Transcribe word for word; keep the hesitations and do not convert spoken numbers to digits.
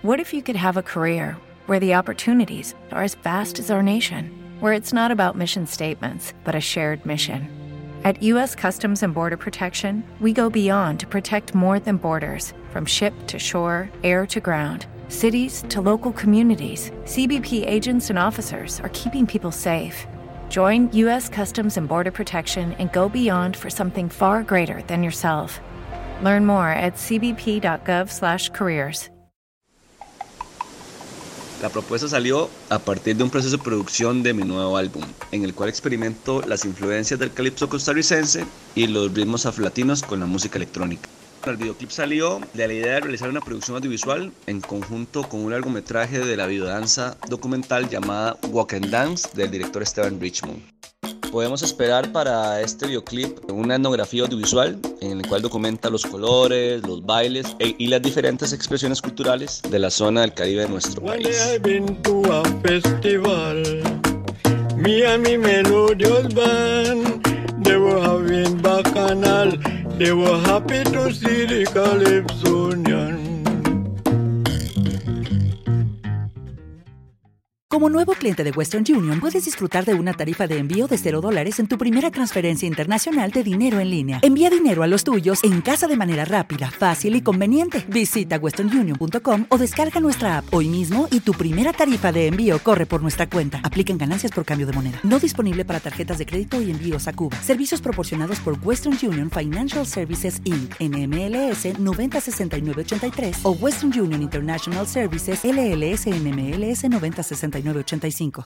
What if you could have a career where the opportunities are as vast as our nation, where it's not about mission statements, but a shared mission? At U S Customs and Border Protection, we go beyond to protect more than borders. From ship to shore, air to ground, cities to local communities, C B P agents and officers are keeping people safe. Join U S Customs and Border Protection and go beyond for something far greater than yourself. Learn more at c b p dot gov slash careers. La propuesta salió a partir de un proceso de producción de mi nuevo álbum, en el cual experimento las influencias del calipso costarricense y los ritmos afrolatinos con la música electrónica. El videoclip salió de la idea de realizar una producción audiovisual en conjunto con un largometraje de la videodanza documental llamada Walk and Dance del director Esteban Richmond. Podemos esperar para este videoclip una etnografía audiovisual en el cual documenta los colores, los bailes e, y las diferentes expresiones culturales de la zona del Caribe de nuestro país. Me and me melodious band, they were having bacchanal, they were happy to see the Calypsonian. Como nuevo cliente de Western Union, puedes disfrutar de una tarifa de envío de cero dólares en tu primera transferencia internacional de dinero en línea. Envía dinero a los tuyos en casa de manera rápida, fácil y conveniente. Visita western union punto com o descarga nuestra app hoy mismo y tu primera tarifa de envío corre por nuestra cuenta. Aplican ganancias por cambio de moneda. No disponible para tarjetas de crédito y envíos a Cuba. Servicios proporcionados por Western Union Financial Services incorporated. N M L S noventa sesenta y nueve ochenta y tres o Western Union International Services L L S N M L S noventa sesenta y nueve ochenta y cinco.